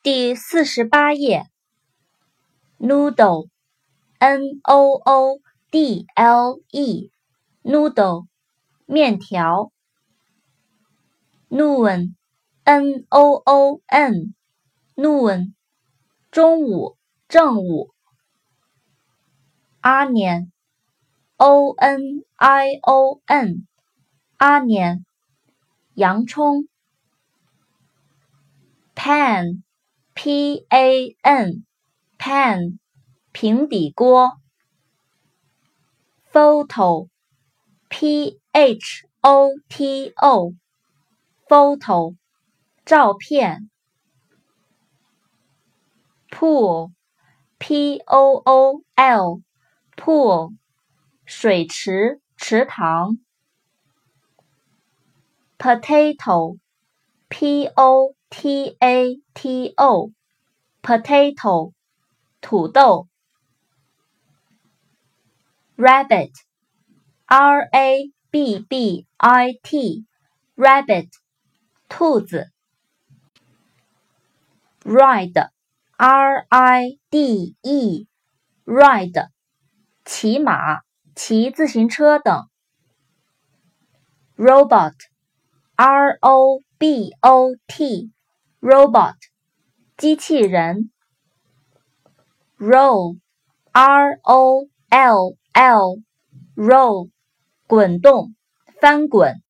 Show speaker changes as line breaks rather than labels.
第48页 Noodle Noodle Noodle 面条 Noon Noon 中午正午 Onion Onion 洋葱 Pan Pan 平底锅 Photo Photo 照片 Pool Pool 水池池塘 Potato Potato 土豆 Rabbit Rabbit 兔子 Ride Ride 骑马骑自行车等 Robot Robot 机器人 Roll Roll 滚动翻滚